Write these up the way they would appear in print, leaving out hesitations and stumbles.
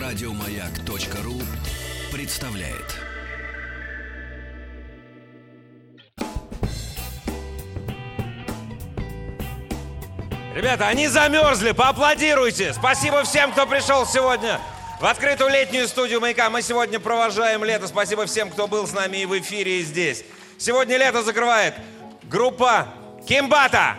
Радиомаяк.ру представляет. Ребята, они замерзли, поаплодируйте! Спасибо всем, кто пришел сегодня в открытую летнюю студию «Маяка». Мы сегодня провожаем лето. Спасибо всем, кто был с нами и в эфире, и здесь. Сегодня лето закрывает группа «Кимбата».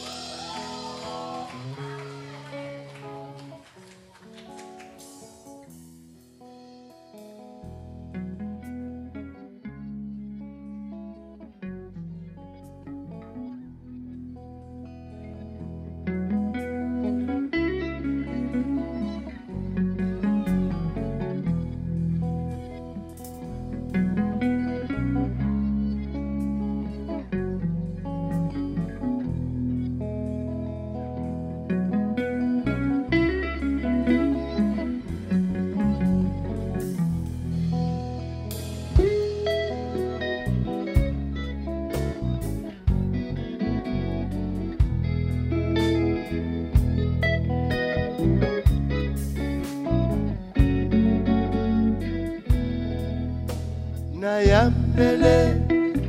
Nayambele,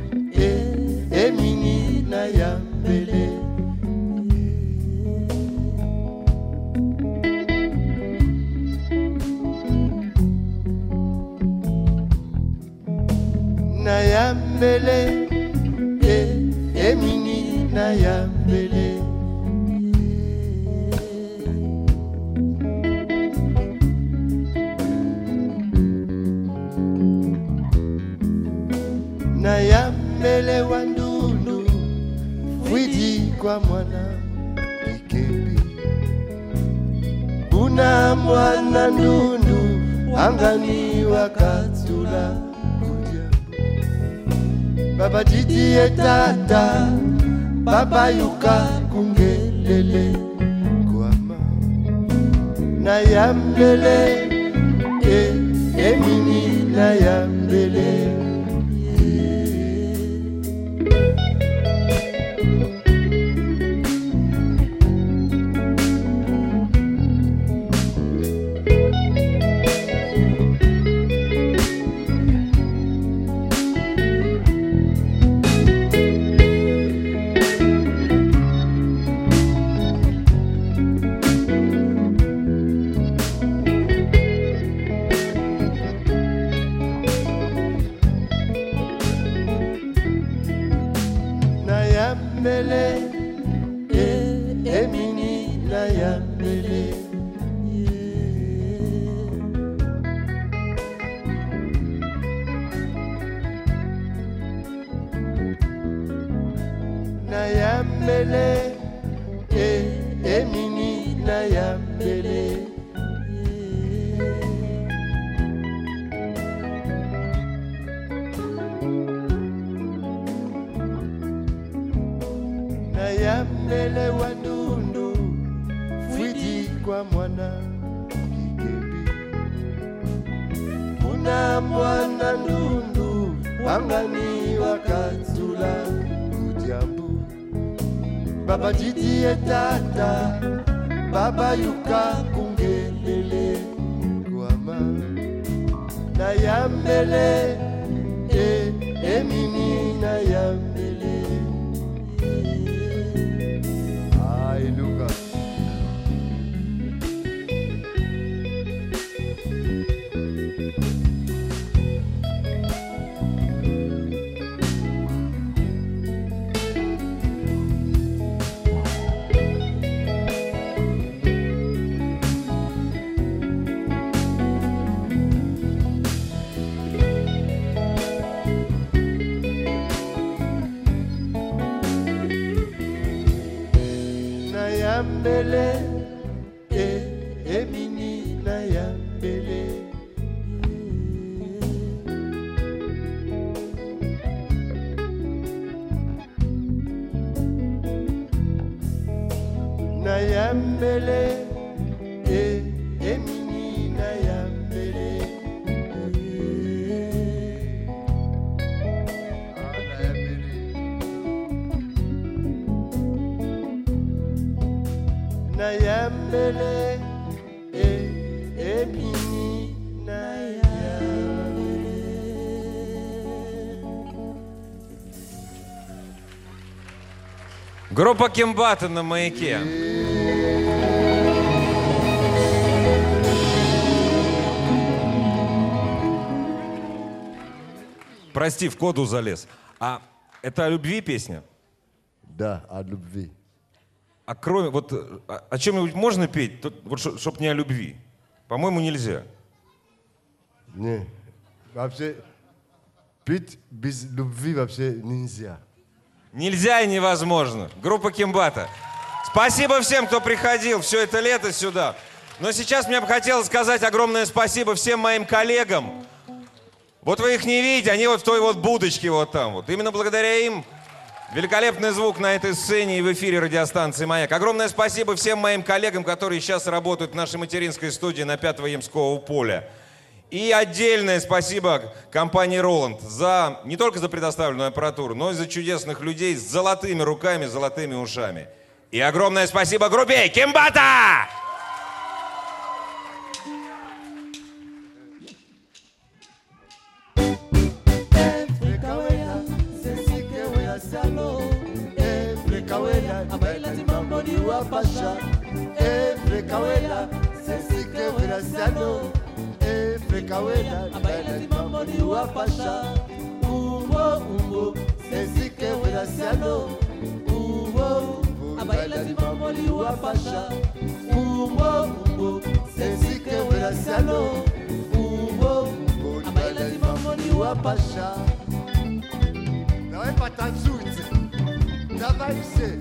emini nayambele. Nayambele, emini nayambele. Nayambele wandundu fwidi kwa mwana ikebi. Una mwana ndundu angani wakatula kudia. Baba jiji etata baba yuka kungelele kwama. Nayambele emini nayambele. Nayambele, emini nayambele. Nayambele, emini nayambele. Nayambele wandundu fwidi kwa mwana ikebi. Una mwana ndundu angani wakatula kudiambu. Baba jiji etata baba yuka kungelele kwama. Nayambele, emini nayambele. Ay, Luca. Nayambele, emini nayambele. Nayambele, emini nayambele. Nayambele, Ebini na Группа Кимбата на маяке. Прости, в коду залез. А это о любви песня? Да, о любви. А кроме, вот, о чем-нибудь можно петь, вот, чтоб не о любви? По-моему, нельзя. Не, вообще, петь без любви вообще нельзя. Нельзя и невозможно. Группа Кимбата. Спасибо всем, кто приходил все это лето сюда. Но сейчас мне бы хотелось сказать огромное спасибо всем моим коллегам. Вот вы их не видите, они вот в той вот будочке вот там вот. Именно благодаря им великолепный звук на этой сцене и в эфире радиостанции «Маяк». Огромное спасибо всем моим коллегам, которые сейчас работают в нашей материнской студии на 5-го Ямского поля. И отдельное спасибо компании «Роланд» не только за предоставленную аппаратуру, но и за чудесных людей с золотыми руками, золотыми ушами. И огромное спасибо группе Кимбата! Kawela, baila de mambo ni wapasha. Umbo, umbo, sesi que graciano. Umbo, umbo, baila de mambo ni wapasha. Umbo, umbo, sesi que graciano. Umbo, umbo, baila de mambo ni wapasha. Давай потанцуйте. Давай все.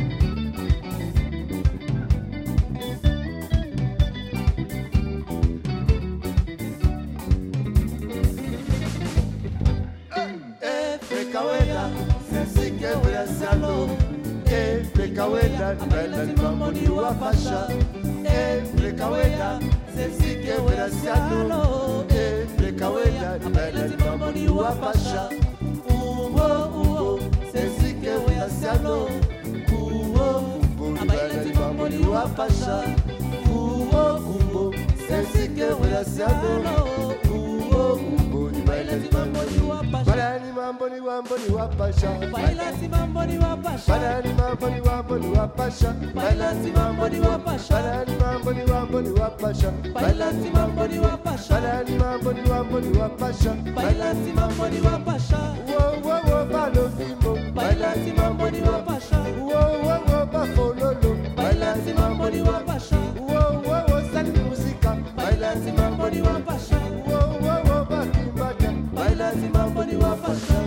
Kawela, sesi que graciano. Kawela, baila de mambo ni wapasha. Kawela, sesi que graciano. Kawela, baila de mambo ni wapasha. Umbo, umbo, sesi que graciano. Umbo, umbo, baila de mambo ni wapasha. Umbo, umbo, sesi que graciano. Umbo, umbo, baila de mambo ni wapasha. Mambo ni wambo ni wapasha. Baila si mambo ni wapasha. Baila ni mambo ni wambo ni wapasha. Baila si mambo ni wapasha. Baila ni mambo ni wambo ni wapasha. Baila si mambo ni wapasha. Baila ni mambo ni wambo ni wapasha. Baila si mambo ni wapasha. Wo wo wo balo fimo. Baila si mambo ni wapasha. Wo wo wo bafololo. Baila si mambo ni wapasha. Wo wo wo sali musika. Baila si mambo ni wapasha. Wo wo wo bakimbata. Baila si mambo ni wapasha.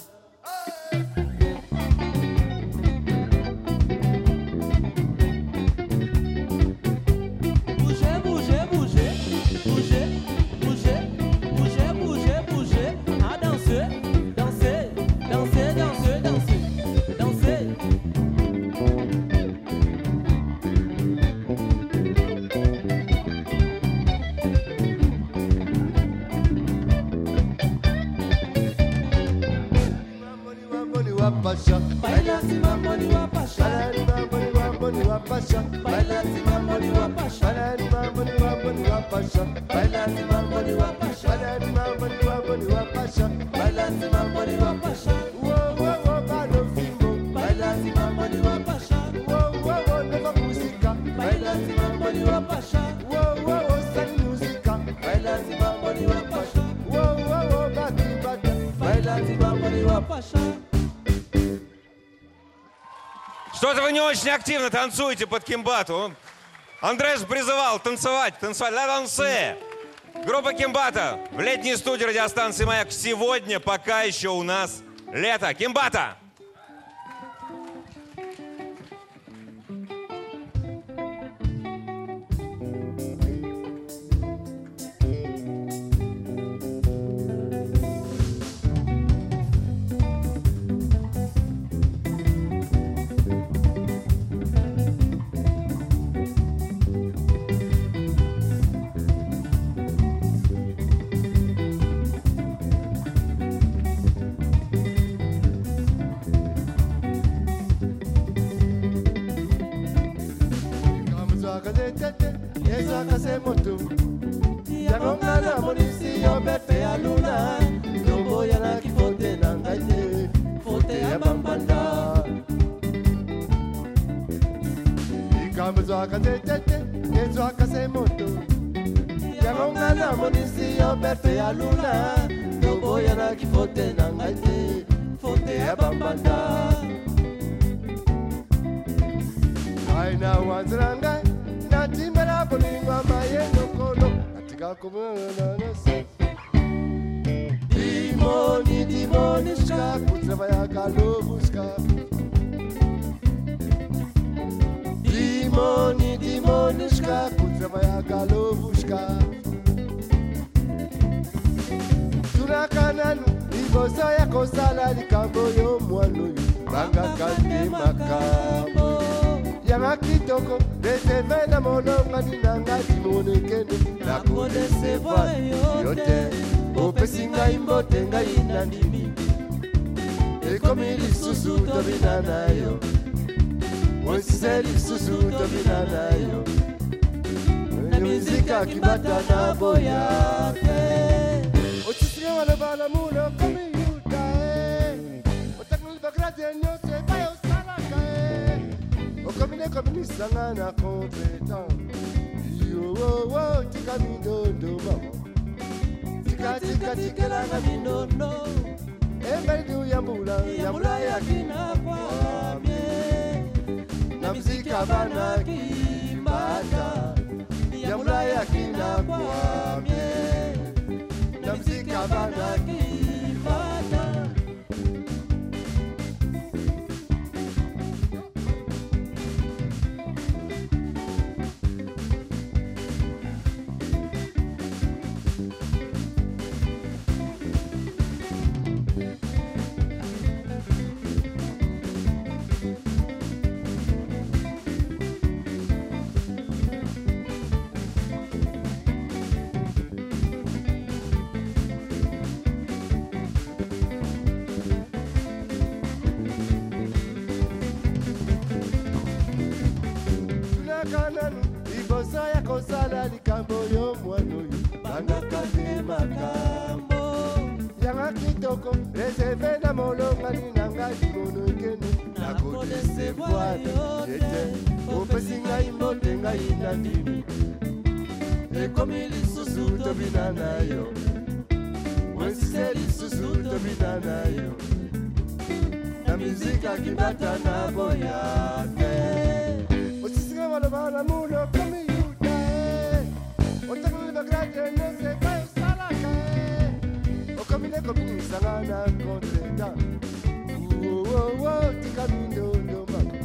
Baila si mambo ni wapasha. Baila ni mambo ni wambo ni wapasha. Baila si mambo ni wapasha. Baila ni mambo ni wambo ni wapasha. Baila si mambo ni wapasha. Baila ni mambo ni wambo ni wapasha. Baila si mambo ni wapasha. Wo wo wo balo fimbo. Baila si mambo ni wapasha. Wo wo wo nova musika. Baila si mambo ni wapasha. Wo wo wo sali musika. Baila si mambo ni wapasha. Wo wo wo bakimbata. Baila si mambo ni wapasha. Что-то вы не очень активно танцуете под Кимбату. Андрей же призывал танцевать. Ла дансе. Группа Кимбата в летней студии радиостанции «Маяк». Сегодня пока еще у нас лето. Кимбата! Ezwakazetete, ezwakasemoto. Yangongana monisi yo bepe aluna. Lobo yana kifote nangaite, fote ya bambanda. Ikamba zwakazetete, ezwakasemoto. Yangongana monisi yo bepe aluna. Lobo yana kifote nangaite, fote ya bambanda. Aina wanzranga natimera boningwa mayeno kono atika kumana nase Dimoni ska kutrava ya kalovuska Dimoni ska kutrava ya kalovuska Tunakananu ibosa ya kosala likambo yo mwanu banga kande makamo Yanga kitoko, deseve na mononga ninanga timonekene na kodeseva yote opesi ngai mbote ngai nandimi ekomi lisusu tobina na yo wesise lisusu tobina na yo na mizika kibata na boya te otisiga walobala muno komi yuta otaknul bagrate nyote bayo salaka Komine sangana compétent. Yo wo wo tika mindondo mama. Tika la na mindondo. Emelu yambula yakina kwa mie. Na mzika bana kimbata. Yambula yakina kwa mie. Na mzika bana kimbata. Ibosa ya kosala likambo yo mwano yo banga kande makambo Yanga kitoko reserve na molonga ninanga limono ikene na kodesevoir yete opesi ngai mbote ngai nandimi ekomi lisusu tobina na yo wesise lisusu tobina na yo na mizika kibata na boya te Malabala muno komi yuta Otakuli bagrate nese kayo salaka Okomine sangana kontreta Uo tika mindondo mako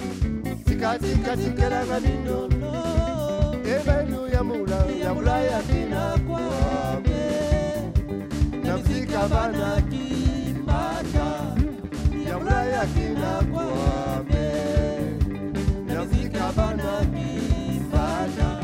Tika langa mindondo Ebelu yamula yakina kwa me Namzika bana kimbata Yamula yakina kwa me Kabana kibana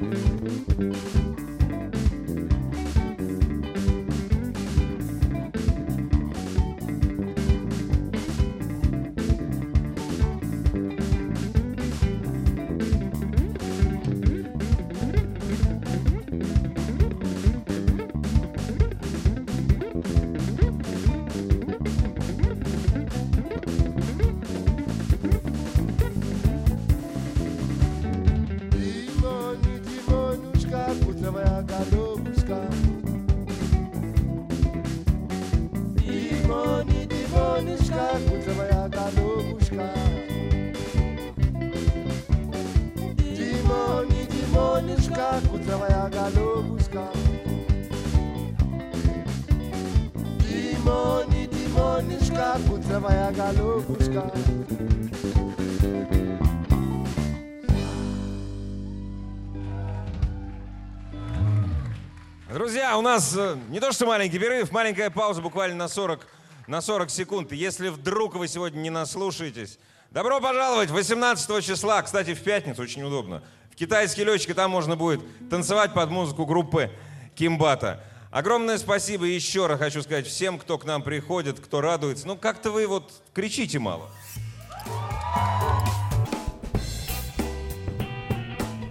Друзья, у нас не то что маленький перерыв, маленькая пауза буквально на 40 секунд. Если вдруг вы сегодня не наслушаетесь, добро пожаловать 18 числа, кстати, в пятницу, очень удобно. В китайский летчик, там можно будет танцевать под музыку группы Кимбата. Огромное спасибо еще раз хочу сказать всем, кто к нам приходит, кто радуется. Ну, как-то вы вот кричите мало.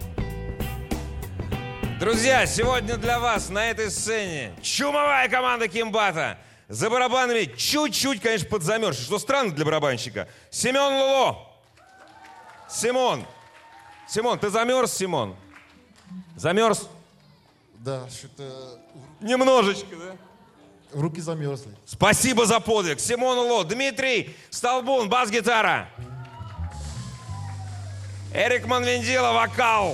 Друзья, сегодня для вас на этой сцене чумовая команда Кимбата. За барабанами чуть-чуть, конечно, подзамерзший, что странно для барабанщика. Семен Луло. Симон, ты замерз, Симон? Замерз? Да, что-то Немножечко, да? руки замерзли. Спасибо за подвиг. Симон Луло. Дмитрий Столбун, бас-гитара. Эрик Манвендила, вокал.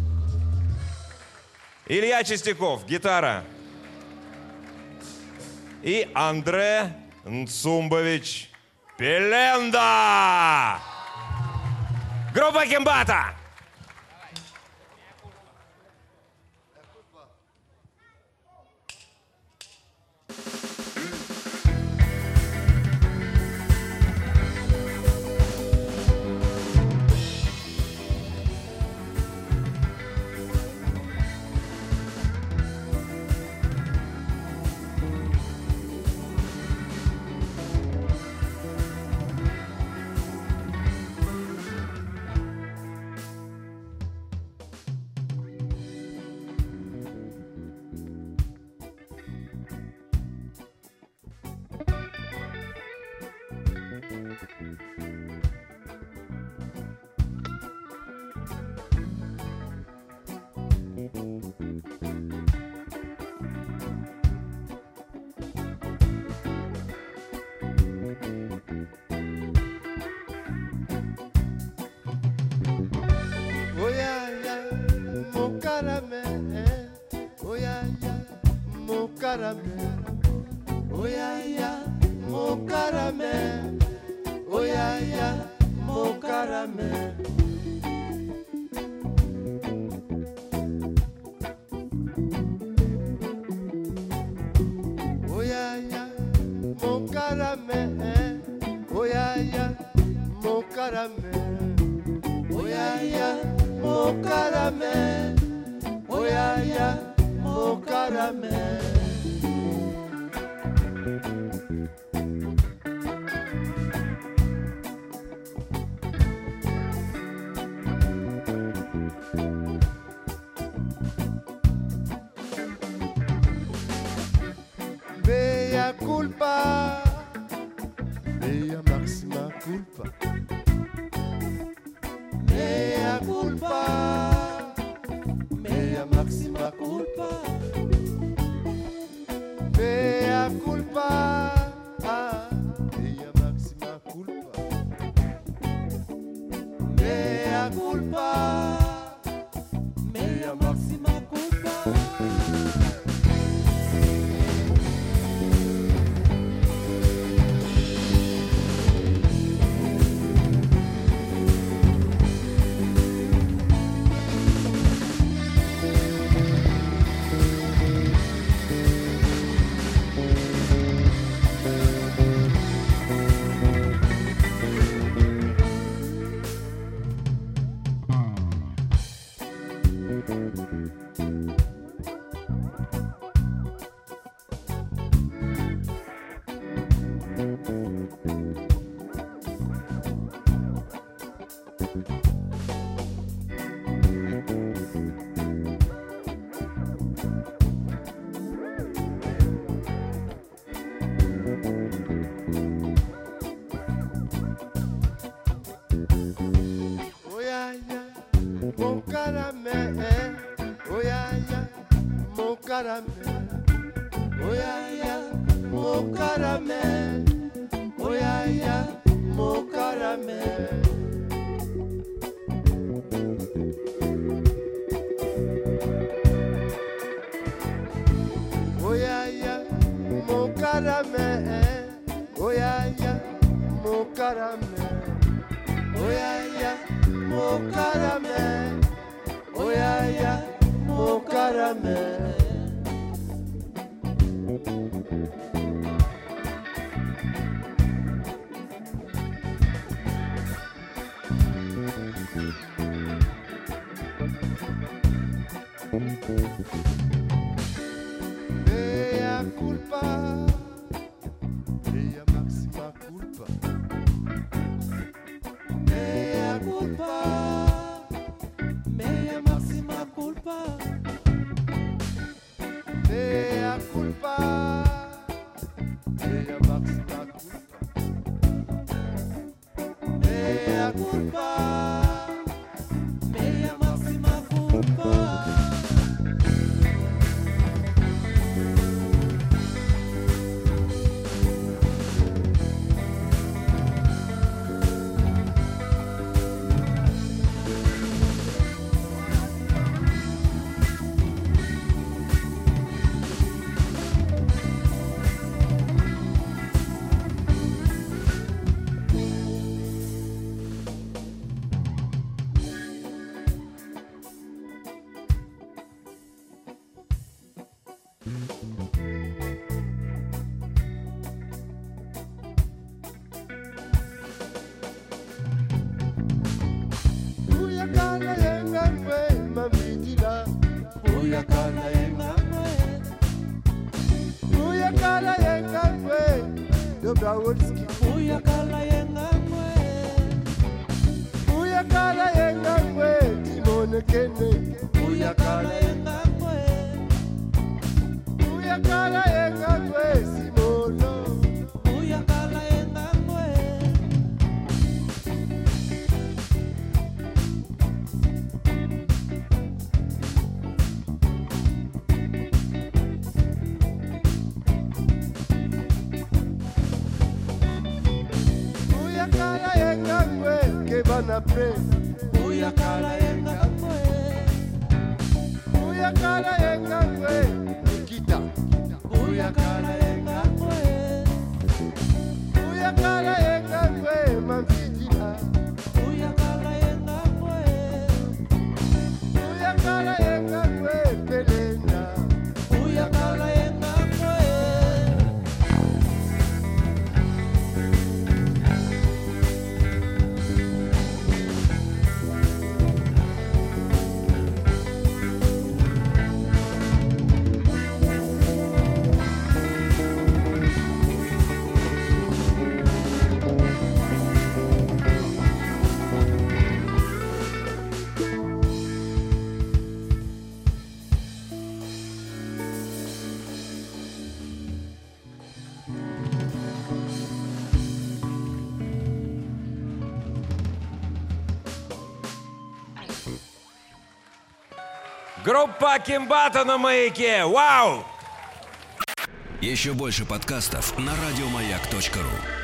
Илья Чистяков, гитара. И Андре Нцумбович Пеленда. Группа Кимбата. Mea culpa, mea máxima culpa. Mea culpa, mea máxima culpa. Mea culpa, mea máxima culpa. Mea culpa, mea máxima culpa. Mon caramel, oh ya ya, mon caramel, oh ya ya, mon caramel, oh ya ya, mon caramel. Oh ya ya, mon caramel, oh ya ya, mon caramel, oh ya ya, mon caramel, oh ya ya, mon caramel. Uyakala yengangwe mambidila. Uyakala yengangwe. Uyakala yengangwe Dobrowolski. Uyakala yengangwe. Uyakala yengangwe Timone Kene. Uyakala yengangwe. Uyakala yengangwe Simono. Uyakala yengangwe. Uyakala yengangwe Kebana Pre. Uyakala yengangwe. Uyakala yengangwe Nikita. Uyakala yengangwe. Uyakala yengangwe Mambidila. Uyakala yengangwe. Uyakala yengangwe Pelena. Uyakala yengangwe. Группа Кимбата на маяке. Вау! Еще больше подкастов на радиомаяк.ру.